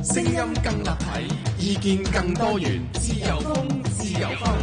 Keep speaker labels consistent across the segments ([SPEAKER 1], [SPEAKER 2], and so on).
[SPEAKER 1] 聲音更立體，意見更多元，自由風，自由風。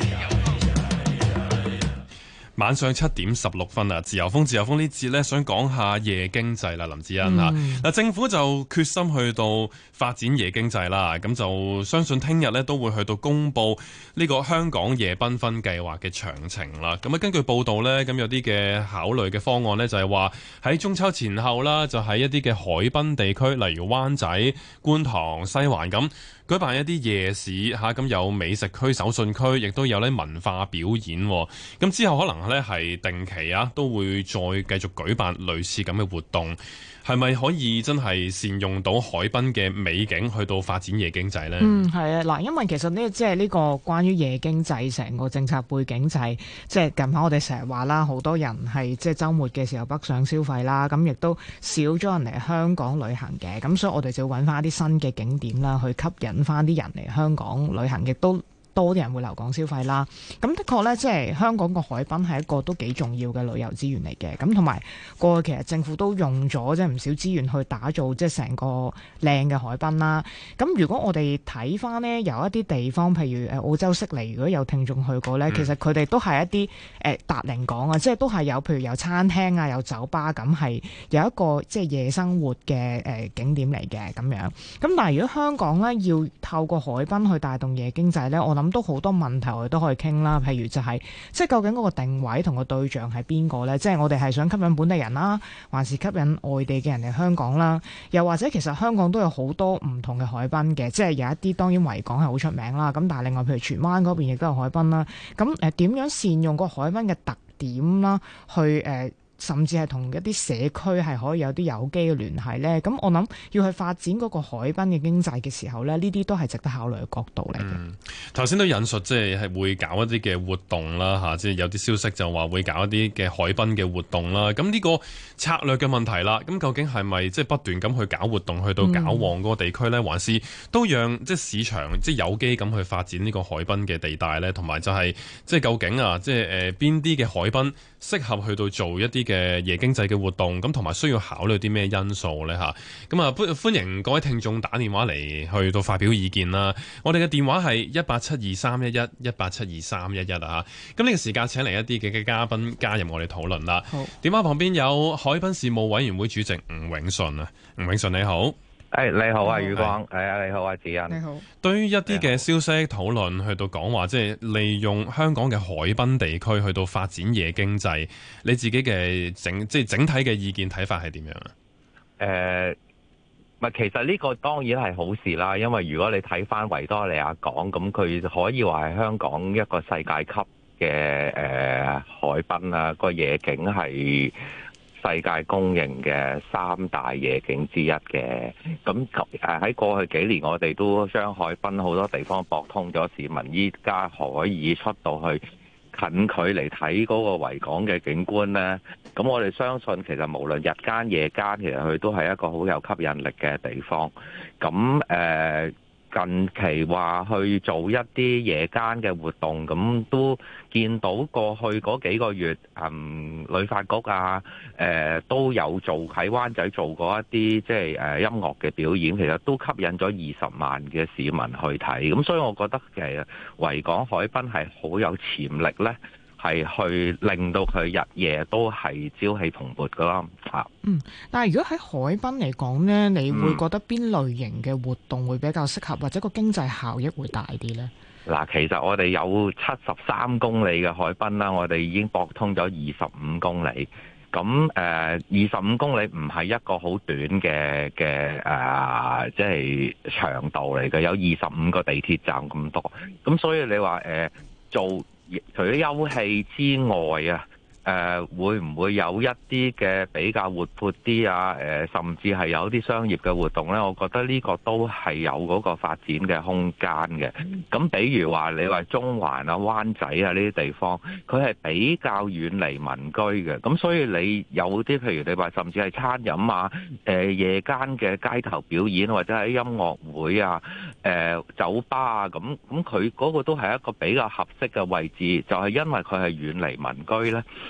[SPEAKER 2] 晚上7:16啊，自由風呢節呢，想講下夜經濟啦，林子欣嚇。嗱，政府就決心去到發展夜經濟啦，咁就相信聽日呢都會去到公佈呢個香港夜繽紛計劃嘅詳情啦。咁啊，根據報道呢，咁有啲嘅考慮嘅方案呢，就係話喺中秋前後啦，就喺一啲嘅海濱地區，例如灣仔、觀塘、西環咁，舉辦一啲夜市嚇，咁有美食區、手信區，亦都有咧文化表演。咁之後可能咧係定期啊，都會再繼續舉辦類似咁嘅活動。係咪可以真係善用到海濱嘅美景去到發展夜經濟呢？
[SPEAKER 3] 係啊，嗱，因為其實呢，即係呢個關於夜經濟成個政策背景就係，即係近排我哋成日話啦，好多人係即係週末嘅時候北上消費啦，咁亦都少咗人嚟香港旅行嘅，咁所以我哋就要揾翻啲新嘅景點啦，去吸引翻啲人嚟香港旅行，亦都多啲人會留港消費啦。咁的確呢，即係香港個海濱係一個都幾重要嘅旅遊資源嚟嘅。咁同埋過去其實政府都用咗即係唔少資源去打造即係成個靚嘅海濱啦。咁如果我哋睇翻呢，有一啲地方，譬如澳洲悉尼，如果有聽眾去過呢，其實佢哋都係一啲達齡港啊，即係都係有譬如有餐廳啊，有酒吧咁，係有一個即係夜生活嘅景點嚟嘅咁樣。咁但係如果香港呢，要透過海濱去帶動夜經濟呢，我諗都好多問題我哋都可以傾啦，譬如就係即係究竟嗰個定位同個對象係邊個呢？即係我哋係想吸引本地人啦，還是吸引外地嘅人嚟香港啦？又或者其實香港都有好多唔同嘅海濱嘅，即係有一啲當然維港係好出名啦，咁但係另外譬如荃灣嗰邊亦都有海濱啦。咁點樣善用個海濱嘅特點啦，去甚至係同一啲社區係可以有啲有機嘅聯繫呢？咁我諗要去發展嗰個海濱嘅經濟嘅時候呢，呢啲都係值得考慮嘅角度嚟嘅。
[SPEAKER 2] 頭先都引述即係會搞一啲嘅活動啦嚇，即係有啲消息就話會搞一啲嘅海濱嘅活動啦。咁呢個策略嘅問題啦，咁究竟係咪即係不斷咁去搞活動，去到搞旺嗰個地區呢？還是都讓即係市場即係有機咁去發展呢個海濱嘅地帶呢？同埋就係即係究竟啊，即係邊啲嘅海濱適合去到做一啲嘅夜經濟嘅活動，咁同埋需要考慮啲咩因素呢？嚇？咁啊，歡迎各位聽眾打電話嚟去到發表意見啦。我哋嘅電話係1872311，1872311啊。咁呢個時間請嚟一啲嘅嘉賓加入我哋討論啦。好，電話旁邊有海濱事務委員會主席吳永順啊，吳永順你好。
[SPEAKER 4] 你好啊，宇光。你好啊，子欣。
[SPEAKER 3] 你好。對
[SPEAKER 2] 於一啲嘅消息討論去到講話，即係利用香港嘅海濱地區去到發展夜經濟，你自己嘅整體嘅意見睇法係點樣啊？
[SPEAKER 4] 其實呢個當然係好事啦，因為如果你睇翻維多利亞港，咁佢可以話係香港一個世界級嘅海濱啊，個夜景係世界公認嘅3大夜景之一嘅。咁喺過去幾年，我哋都將海濱好多地方駁通咗，市民依家可以出到去近距離睇嗰個維港嘅景觀呢。咁我哋相信其實無論日間夜間，其實佢都係一個好有吸引力嘅地方。咁近期話去做一啲夜間嘅活動，咁都見到過去嗰幾個月，旅發局啊，都有做喺灣仔做過一啲即係音樂嘅表演，其實都吸引咗20萬嘅市民去睇。咁所以我覺得其實維港海濱係好有潛力呢，係去令到佢日夜都係朝氣蓬勃噶啦嚇。
[SPEAKER 3] 但係如果喺海濱嚟講呢，你會覺得邊類型嘅活動會比較適合，或者個經濟效益會大啲呢？
[SPEAKER 4] 嗱，其實我哋有73公里嘅海濱啦，我哋已經駁通咗25公里。咁25公里唔係一個好短嘅即係長度嚟嘅，有25個地鐵站咁多。咁所以你話做除咗休憩之外啊，會唔會有一啲嘅比較活潑啲啊？甚至係有啲商業嘅活動呢？我覺得呢個都係有嗰個發展嘅空間嘅。咁比如話你話中環啊、灣仔啊呢啲地方，佢係比較遠離民居嘅。咁所以你有啲譬如你話甚至係餐飲啊、夜間嘅街頭表演或者係音樂會啊、酒吧啊，咁佢嗰個都係一個比較合適嘅位置，就係因為佢係遠離民居呢。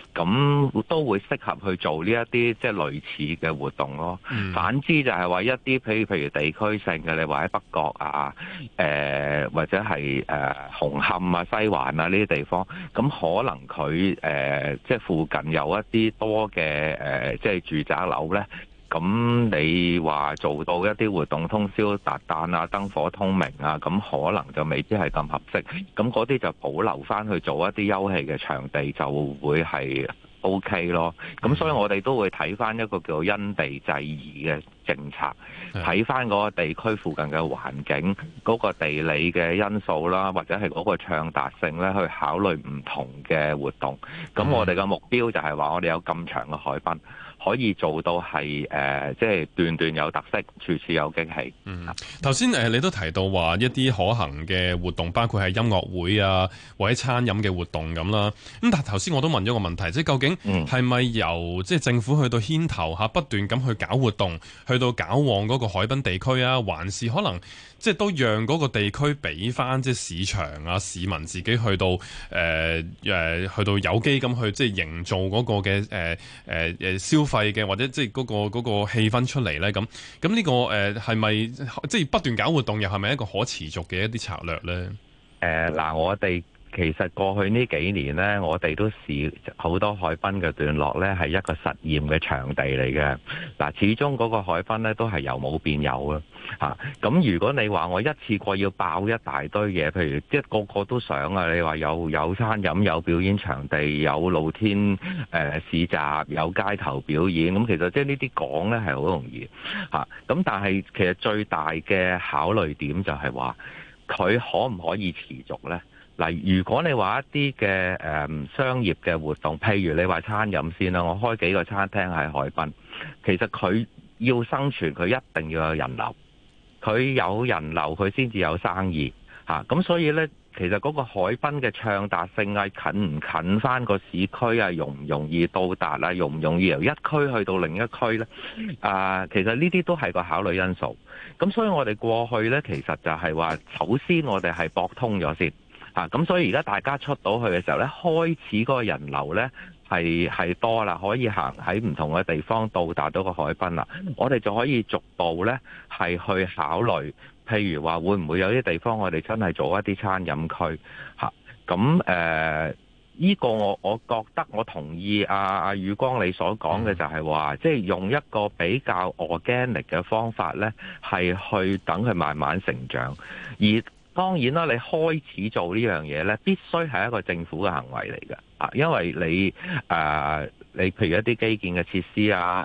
[SPEAKER 4] 咁都會適合去做呢一啲即係類似嘅活動咯。反之就係話一啲譬如地區性嘅，你話喺北角啊，或者係紅磡啊、西環啊呢啲地方，咁可能佢即係附近有一啲多嘅即係住宅樓咧。咁你話做到一啲活動通宵達旦啊、燈火通明啊，咁可能就未必係咁合適。咁嗰啲就保留翻去做一啲休憩嘅場地，就會係 OK 咯。咁所以我哋都會睇翻一個叫因地制宜嘅政策，睇翻嗰個地區附近嘅環境、嗰個地理嘅因素啦，或者係嗰個暢達性咧，去考慮唔同嘅活動。咁我哋嘅目標就係話，我哋有咁長嘅海濱，可以做到係即係段段有特色，處處有驚喜。
[SPEAKER 2] 頭先你都提到話一啲可行嘅活動，包括係音樂會啊，或者餐飲嘅活動咁啦。咁但係頭先我都問咗個問題，即係究竟係咪由即係政府去到牽頭下不斷咁去搞活動，去到搞旺嗰個海濱地區啊，還是可能即係都讓嗰個地區俾翻即係市場啊、市民自己去到去到有機咁去即係營造嗰個嘅消費嘅或者即係嗰個氣氛出嚟咧？咁呢個係咪即係不斷搞活動，又係咪一個可持續嘅一啲策略咧？
[SPEAKER 4] 嗱，我哋其實過去呢幾年呢，我哋都試好多海濱嘅段落呢，係一個實驗嘅場地嚟嘅。嗱，始終嗰個海濱呢都係由冇變有啊。咁如果你話我一次過要爆一大堆嘢，譬如即係個個都想啊，你話有餐飲、有表演場地、有露天市集、有街頭表演，咁其實即係呢啲講呢係好容易咁但係其實最大嘅考慮點就係話佢可唔可以持續呢？嗱，如果你話一啲嘅商業嘅活動，譬如你話餐飲先啦，我開幾個餐廳喺海濱，其實佢要生存，佢一定要有人流，佢有人流佢先至有生意咁所以呢，其實嗰個海濱嘅暢達性啊，近唔近翻個市區啊，容唔容易到達啊，容唔容易由一區去到另一區呢？其實呢啲都係個考慮因素。咁所以我哋過去呢，其實就係話，首先我哋係駁通咗先。咁所以而家大家出到去嘅時候咧，開始嗰個人流咧係多啦，可以行喺唔同嘅地方到達到個海濱啦。我哋就可以逐步咧係去考慮，譬如話會唔會有啲地方我哋真係做一啲餐飲區咁呢個我覺得我同意阿宇光你所講嘅就係話，即係用一個比較 organic 嘅方法咧，係去等佢慢慢成長。而當然啦，你開始做呢樣嘢呢，必須係一個政府嘅行為嚟嘅，因為你譬如一啲基建嘅設施啊，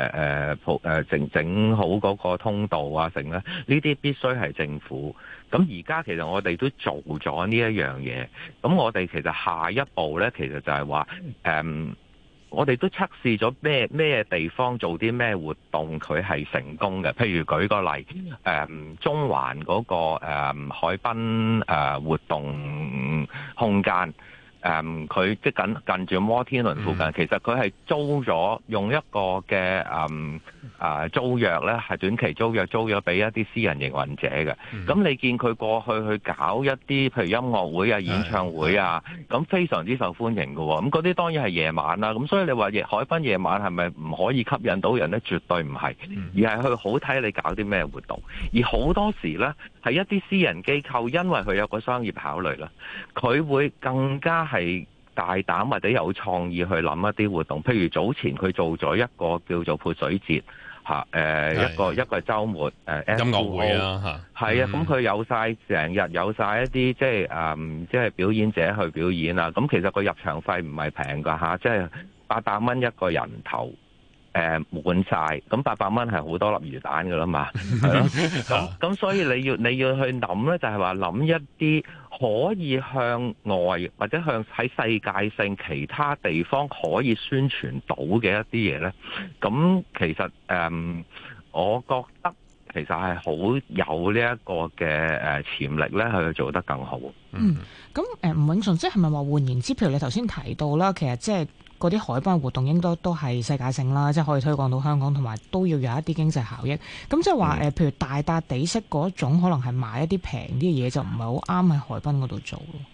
[SPEAKER 4] 整好嗰個通道啊，成咧，呢啲必須係政府。咁而家其實我哋都做咗呢一樣嘢，咁我哋其實下一步呢，其實就係話我哋都測試咗咩地方做啲咩活動佢係成功嘅，譬如舉個例，中環嗰個海濱活動空間。佢即近住摩天輪附近，其實佢係租咗用一個嘅租約咧，係短期租約租咗俾一啲私人營運者嘅。咁你見佢過去搞一啲譬如音樂會啊、演唱會啊，咁非常之受歡迎嘅喎。咁嗰啲當然係夜晚啦。咁所以你話海濱夜晚係咪唔可以吸引到人咧？絕對唔係，而係去好睇你搞啲咩活動。而好多時咧係一啲私人機構，因為佢有個商業考慮啦，佢會更加係大膽或者有創意去諗一啲活動，譬如早前佢做咗一個叫做潑水節一個週末
[SPEAKER 2] 音樂會啊
[SPEAKER 4] 係啊，咁佢有晒成日有晒一啲即係表演者去表演啊，咁其實個入場費唔係平㗎即係800蚊一個人頭。滿晒，咁800蚊係好多粒魚蛋㗎啦嘛，係咯，咁所以你要去諗咧，就係話諗一啲可以向外或者向喺世界性其他地方可以宣傳到嘅一啲嘢咧，咁其實我覺得其實係好有呢一個嘅潛力咧，去做得更好。
[SPEAKER 3] 咁吳永順，即係咪話換言之，譬如你頭先提到啦，其實即係嗰啲海濱活動應該都係世界性啦，即係可以推廣到香港，同埋都要有一啲經濟效益。咁即係話譬如大笪地式嗰種，可能係買一啲平啲嘅嘢，就唔係好啱喺海濱嗰度做咯。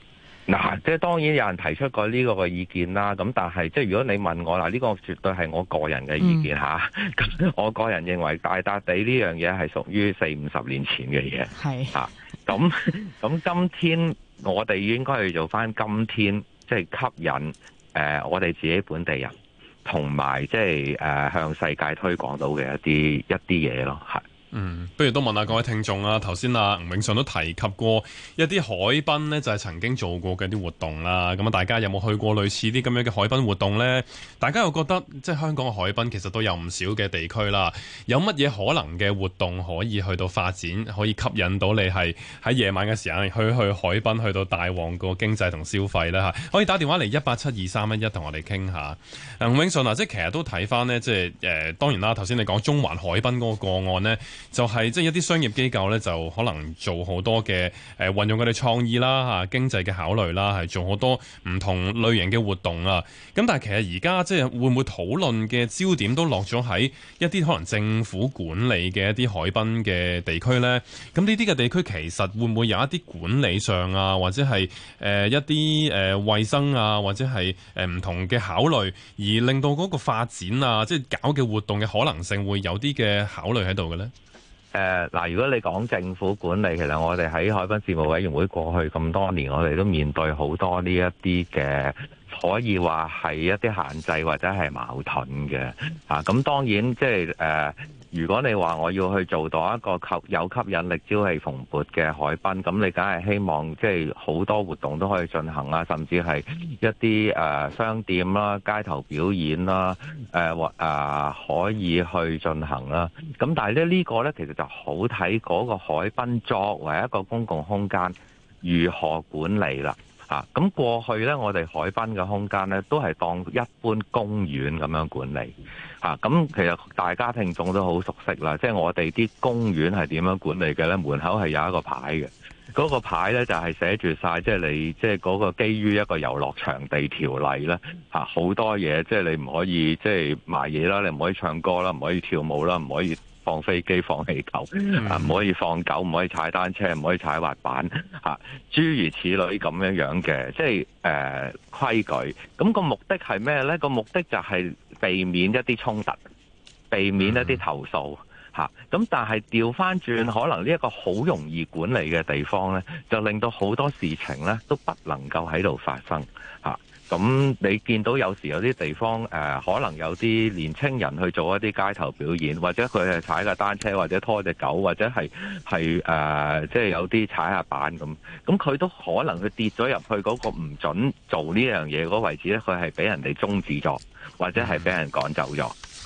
[SPEAKER 4] 嗱，即係當然有人提出過呢個嘅意見啦。咁但係即係如果你問我嗱，呢個絕對係我個人嘅意見嚇。咁我個人認為大笪地呢樣嘢係屬於40-50年前嘅嘢。
[SPEAKER 3] 係
[SPEAKER 4] 嚇。咁今天我哋應該去做翻今天即係吸引我哋自己本地人，同埋即係向世界推廣到嘅一啲嘢咯。係。
[SPEAKER 2] 不如都問下各位聽眾啊。頭先啊，吳永順都提及過一啲海濱呢，就係曾經做過嘅啲活動啦。咁啊，大家有冇去過類似啲咁樣嘅海濱活動呢？大家又覺得即係香港嘅海濱其實都有唔少嘅地區啦，有乜嘢可能嘅活動可以去到發展，可以吸引到你係喺夜晚嘅時間去海濱，去到大旺個經濟同消費呢？嚇？可以打電話嚟1872311同我哋傾下。吳永順啊，即係其實都睇翻呢，即係當然啦，頭先你講中環海濱嗰個個案呢，就係即係一啲商業機構咧，就可能做好多嘅運用佢哋創意啦嚇，經濟嘅考慮啦，係做好多唔同類型嘅活動啊。咁但係其實而家即係會唔會討論嘅焦點都落咗喺一啲可能政府管理嘅一啲海濱嘅地區咧？咁呢啲嘅地區其實會唔會有一啲管理上啊，或者係一啲衛生啊，或者係唔同嘅考慮，而令到嗰個發展啊，即係搞嘅活動嘅可能性會有啲嘅考慮喺度嘅咧？
[SPEAKER 4] 嗱，如果你講政府管理，其實我哋喺海濱事務委員會過去咁多年，我哋都面對好多呢一啲嘅，可以話係一啲限制或者係矛盾嘅。咁當然即係如果你話我要去做到一個有吸引力、朝氣蓬勃嘅海濱，咁你梗係希望即係好多活動都可以進行啦，甚至係一啲商店啦、街頭表演啦，可以去進行啦。咁但係呢個呢，其實就好睇嗰個海濱作為一個公共空間如何管理啦。咁過去呢，我哋海濱嘅空間呢，都係當一般公園咁樣管理。咁其實大家聽眾都好熟悉啦，即係我哋啲公園係點樣管理嘅呢？門口係有一個牌嘅，嗰個牌呢就係寫住晒，即係你即係嗰個基於一個遊樂場地條例呢，好多嘢，即係你唔可以即係賣嘢啦，你唔可以唱歌啦，唔可以跳舞啦，唔可以放飛機、放氣球，唔可以放狗，唔可以踩單車，唔可以踩滑板，諸如此類咁樣嘅，即係規矩。咁個目的係咩呢？個目的就係避免一啲衝突，避免一啲投訴。咁但係調翻轉，可能呢一個好容易管理嘅地方呢，就令到好多事情呢都不能夠喺度發生。咁你見到有時有啲地方可能有啲年青人去做一啲街頭表演，或者佢係踩架單車，或者拖隻狗，或者係即係有啲踩下板咁佢都可能佢跌咗入去嗰個唔準做呢樣嘢嗰位置咧，佢係俾人哋終止咗，或者係俾人趕走咗。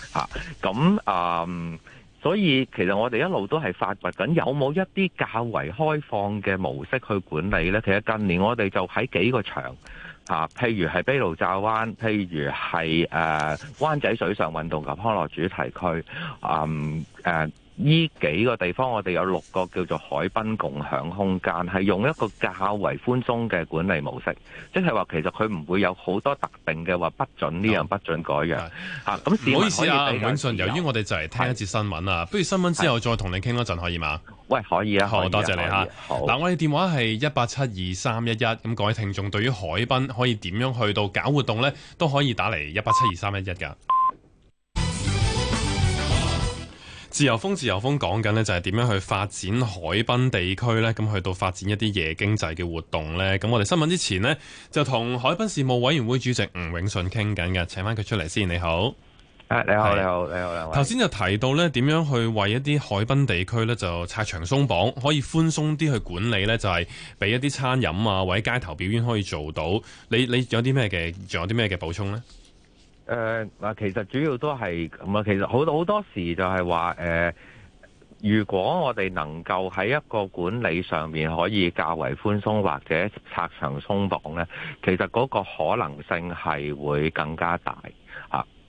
[SPEAKER 4] 所以其實我哋一路都係發掘緊有冇一啲較為開放嘅模式去管理呢？其實近年我哋就喺幾個場譬如係卑路乍灣，譬如係灣仔水上運動及康樂主題區，呢幾個地方我哋有6個叫做海濱共享空間，係用一個較為寬鬆嘅管理模式，即係話其實佢唔會有好多特定嘅話不准呢樣不准嗰樣。咁
[SPEAKER 2] 唔好意思啊，吳永順，由於我哋就嚟聽一節新聞啊，不如新聞之後再同你傾一陣可以嗎？
[SPEAKER 4] 喂，可以啊，
[SPEAKER 2] 好多謝你嚇。嗱，我哋電話係1872311，咁各位聽眾對於海濱可以點樣去到搞活動呢？都可以打嚟1872311㗎。自由風講緊呢就係點樣去發展海濱地區呢？咁去到發展一啲夜經濟嘅活動呢？咁我哋新聞之前呢，就同海濱事務委員會主席吳永順傾緊嘅，請翻佢出嚟先。你好，
[SPEAKER 4] 你好，兩位。頭
[SPEAKER 2] 先就提到呢點樣去為一啲海濱地區呢，就拆牆鬆綁，可以寬鬆啲去管理呢？就係俾一啲餐飲啊或者街頭表演可以做到。你有啲咩嘅？仲有啲咩嘅補充呢？
[SPEAKER 4] 其實主要都係咁啊。其實好多時就係話如果我哋能夠喺一個管理上面可以較為寬鬆或者拆牆鬆綁呢，其實嗰個可能性係會更加大。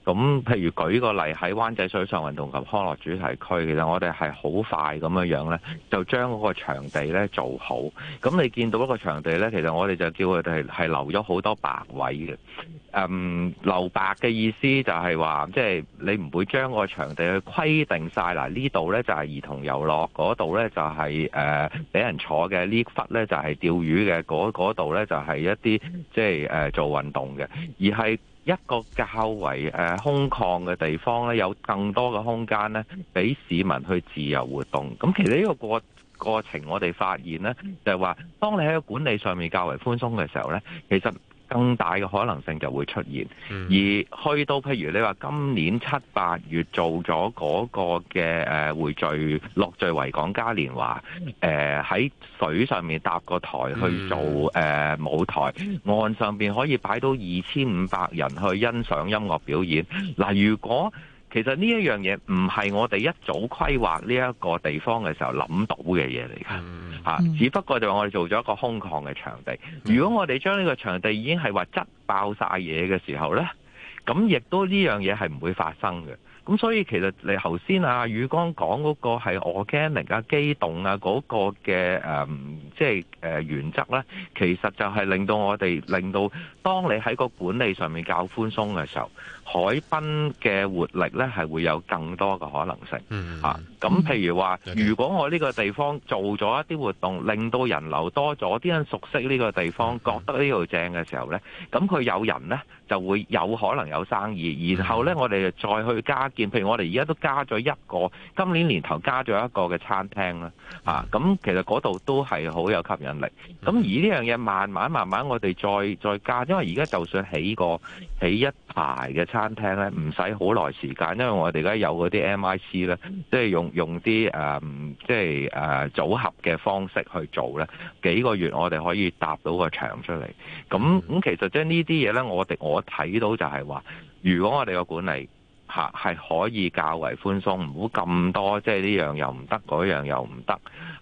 [SPEAKER 4] 咁譬如舉個例喺灣仔水上運動及康樂主題區，其實我哋係好快咁樣咧，就將嗰個場地咧做好。咁你見到一個場地咧，其實我哋就叫佢哋係留咗好多白位嘅。留白嘅意思就係話，即係你唔會將個場地去規定晒。嗱，呢度咧就係兒童遊樂，嗰度咧就係俾人坐嘅，呢忽咧就係釣魚嘅，嗰度咧就係一啲即係做運動嘅，而係一個較為空曠嘅地方咧，有更多嘅空間咧，俾市民去自由活動。咁其實呢個過程，我哋發現咧，就係話，當你喺個管理上面較為寬鬆嘅時候咧，其實更大嘅可能性就會出現。而去到譬如你話今年7、8月做咗嗰個嘅匯聚樂聚維港嘉年華，喺水上面搭個台去做舞台，岸上邊可以擺到2500人去欣賞音樂表演。嗱，如果其實呢一樣嘢唔係我哋一早規劃呢一個地方嘅時候諗到嘅嘢嚟㗎，只不過就係我哋做咗一個空曠嘅場地。如果我哋將呢個場地已經係話擠爆晒嘢嘅時候呢，咁亦都呢樣嘢係唔會發生嘅。咁所以其實你頭先宇剛講嗰個係 organic 啊、機動啊嗰個嘅原則呢，其實就係令到當你喺個管理上面較寬鬆嘅時候，海濱嘅活力呢係會有更多嘅可能性。咁譬如話，如果我呢個地方做咗一啲活動，令到人流多咗，啲人熟悉呢個地方，覺得呢度正嘅時候呢，咁佢有人呢就會有可能有生意，然後呢，我哋再去加建，譬如我哋而家都加咗一個，今年年頭加咗一個嘅餐廳啦，咁其實嗰度都係好有吸引力。咁而呢樣嘢慢慢我哋再加，因為而家就算起一排嘅餐廳呢，唔使好耐時間，因為我哋而家有嗰啲 MIC 呢，即係用啲組合嘅方式去做呢，幾個月我哋可以搭到個場出嚟。咁其實即係呢啲嘢呢，我睇到就係話，如果我哋個管理係可以較為寬鬆，唔好咁多，即係呢樣又唔得，嗰樣又唔得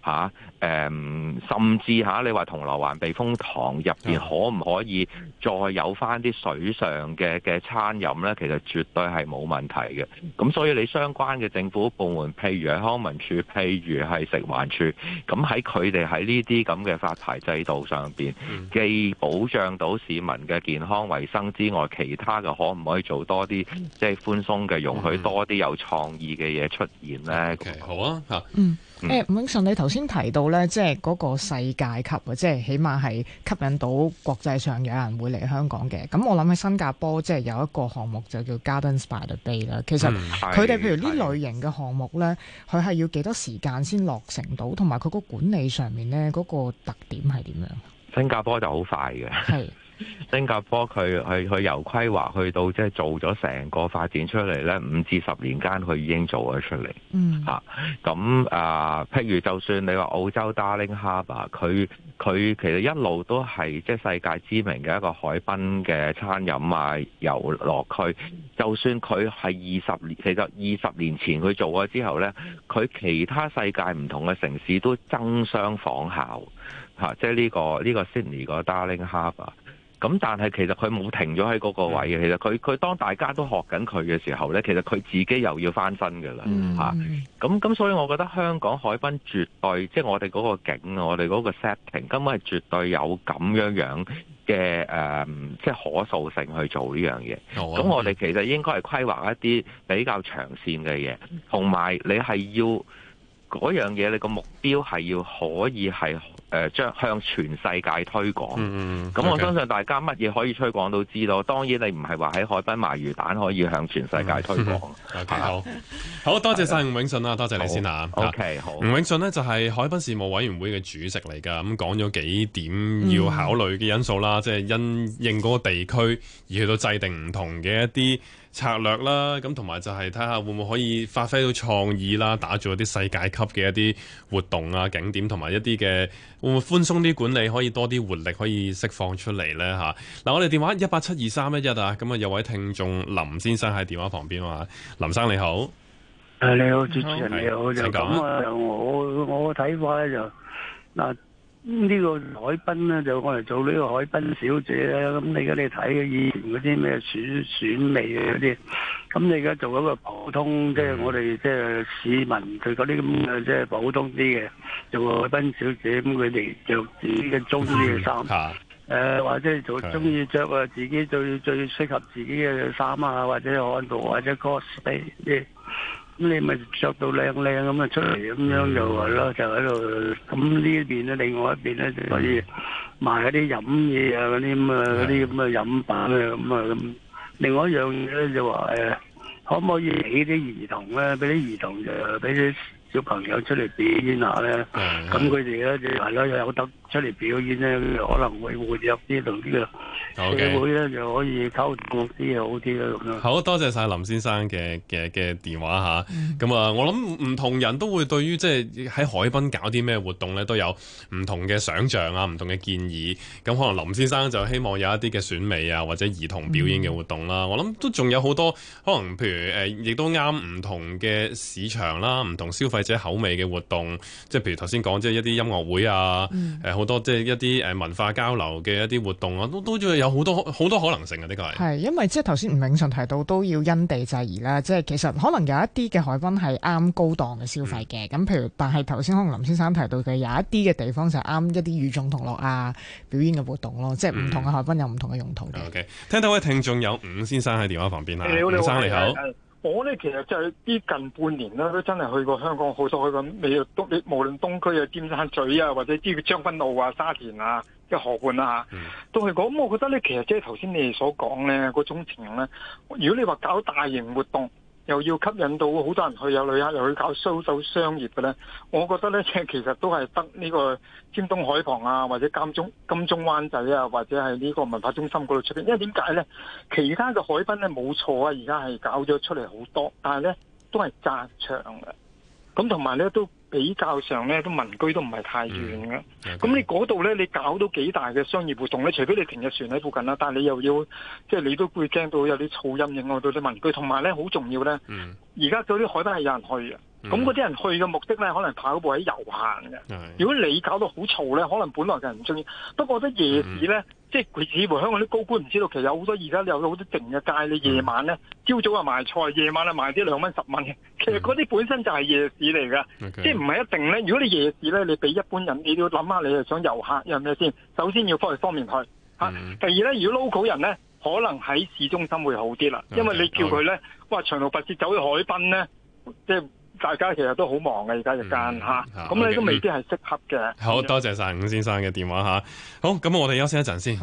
[SPEAKER 4] 甚至你話銅鑼灣避風塘入邊可唔可以再有翻啲水上嘅餐飲呢？其實絕對係冇問題嘅。咁所以你相關嘅政府部門，譬如係康文署，譬如係食環署，咁喺佢哋喺呢啲咁嘅發牌制度上邊，既保障到市民嘅健康衛生之外，其他嘅可唔可以做多啲即係寬鬆嘅，容許多啲有創意嘅嘢出現呢？
[SPEAKER 2] 好啊，
[SPEAKER 3] 伍永順，你頭先提到咧，即係嗰個世界級啊，即係起碼係吸引到國際上有人會嚟香港嘅。咁我諗喺新加坡，即係有一個項目就叫 Gardens by the Bay 啦。其實佢哋譬如呢類型嘅項目咧，佢係要幾多時間先落成到，同埋佢個管理上面咧嗰個特點係點樣？
[SPEAKER 4] 新加坡就好快嘅。係。新加坡佢由規劃去到即係做咗成個發展出嚟呢，5至10年間佢已經做咗出嚟。譬如就算你話澳洲 Darling Harbour， 佢其實一路都係即係世界知名嘅一個海濱嘅餐飲啊遊樂區。就算佢係20年，其實20年前佢做咗之後呢，佢其他世界唔同嘅城市都爭相仿效。即係呢個 Sydney 個 Darling Harbour。咁但係其實佢冇停咗喺嗰個位嘅，其實佢當大家都學緊佢嘅時候呢，其實佢自己又要翻身㗎啦。咁所以我覺得香港海濱絕對即係我哋嗰個景，我哋嗰個 setting 根本係絕對有咁樣嘅即係可塑性去做呢樣嘢。咁我哋其實應該係規劃一啲比較長線嘅嘢，同埋你係要嗰樣嘢，你個目標係要可以係將向全世界推廣。咁我相信大家乜嘢可以推廣都知道。當然你唔係話喺海濱賣魚蛋可以向全世界推廣。
[SPEAKER 2] 好多謝晒伍永順啦，多謝你先嚇。
[SPEAKER 4] OK， 好。
[SPEAKER 2] 伍永順呢就係海濱事務委員會嘅主席嚟㗎，咁講咗幾點要考慮嘅因素啦，即係因應嗰個地區而去到制定唔同嘅一啲策略啦，咁同埋就係睇下會唔會可以發揮到創意啦，打造一啲世界級嘅一啲活動啊、景點，同埋一啲嘅會唔會寬鬆啲管理，可以多啲活力可以釋放出嚟呢？嗱，我哋電話1872311啊，咁啊有位聽眾林先生喺電話旁邊啊，林生你好。
[SPEAKER 5] 你好，主持人你好，就咁啊！我睇法咧就嗱， 呢個海濱咧就我嚟做呢個海濱小姐咧，咁你而家你睇以前嗰啲咩選美啊嗰啲，咁你而家做一個普通，即係我哋即係市民佢嗰啲咁嘅即係普通啲嘅做個海濱小姐，咁佢哋着自己嘅中意嘅衫。或者做中意着啊自己最適合自己嘅衫啊，或者漢服或者 cosplay 啲，咁你咪着到靚咁啊出嚟咁樣就係咯，就喺度。咁呢一邊咧，另外一邊咧就可以賣嗰啲飲嘢啊，嗰啲咁啊，嗰啲咁嘅飲品啊咁啊咁。另外一樣嘢咧就話可唔可以俾啲兒童咧，俾啲兒童就俾啲小朋友出嚟表演下咧？咁佢哋咧就係咯，有得出嚟表演咧，可能會活躍啲，同呢個社會咧就可以溝通啲好啲啦咁樣。
[SPEAKER 2] 好多謝晒林先生嘅電話嚇。咁我諗唔同人都會對於即係喺海濱搞啲咩活動咧，都有唔同嘅想像啊，唔同嘅建議。咁可能林先生就希望有一啲嘅選美啊，或者兒童表演嘅活動啦。我諗都仲有好多可能，譬如亦都啱唔同嘅市場啦，唔同消費者口味嘅活動。即係譬如頭先講，即係一啲音樂會啊，好多即係一啲文化交流嘅一啲活動啊，都仲有好多可能性啊！呢個係
[SPEAKER 3] 因為即係頭先吳永順提到都要因地制宜啦，即係其實可能有一啲嘅海濱係啱高檔嘅消費嘅，咁譬如但係頭先可能林先生提到嘅有一啲嘅地方就係啱一啲與眾同樂啊表演嘅活動咯，即係唔同嘅海濱有唔同嘅用途嘅。
[SPEAKER 2] OK， 聽到位聽眾有伍先生喺電話旁邊啊，伍生你好。
[SPEAKER 6] 我咧其實就係啲近半年啦，都真係去過香港好多，去過美東，無論東區啊、尖沙咀啊，或者啲將軍澳啊、沙田啊、即係河畔啊，都去過。咁我覺得咧，其實即係頭先你哋所講咧嗰種情形咧，如果你話搞大型活動，又要吸引到好多人去，有旅客又去搞收商業嘅咧，我覺得咧，即係其實都係得呢個尖東海旁啊，或者金鐘灣仔啊，或者係呢個文化中心嗰度出邊。因為點解咧？其他嘅海濱咧冇錯啊，而家係搞咗出嚟好多，但係咧都係窄長嘅，咁同埋咧都比較上咧都民居都唔係太遠嘅。咁你嗰度咧，你搞到幾大嘅商業活動咧？除非你停日船喺附近啦，但係你又要即係你都會驚到有啲噪音影響到啲民居，同埋咧好重要咧。而家嗰啲海濱係有人去嘅。咁嗰啲人去嘅目的咧，可能跑步喺遊行嘅。如果你搞到好嘈咧，可能本來嘅人唔中意。不過我覺得夜市咧，即係佢似乎香港啲高官唔知道，其實有好多而家有好多靜嘅街，你夜晚咧，朝早啊賣菜，夜晚啊賣啲2蚊10蚊嘅。其實嗰啲本身就係夜市嚟㗎，即係唔係一定咧。如果你夜市咧，你俾一般人，你要諗下你係想遊客有咩先？首先要方便去嚇。第二咧，如果 local 人咧，可能喺市中心會好啲啦，因為你叫佢咧，哇長途跋涉走去海濱咧，即係。大家其實都好忙嘅，而家日間嚇，咁你都未必係適合嘅。
[SPEAKER 2] 好多謝晒伍先生嘅電話嚇。好，咁我哋休息一陣先。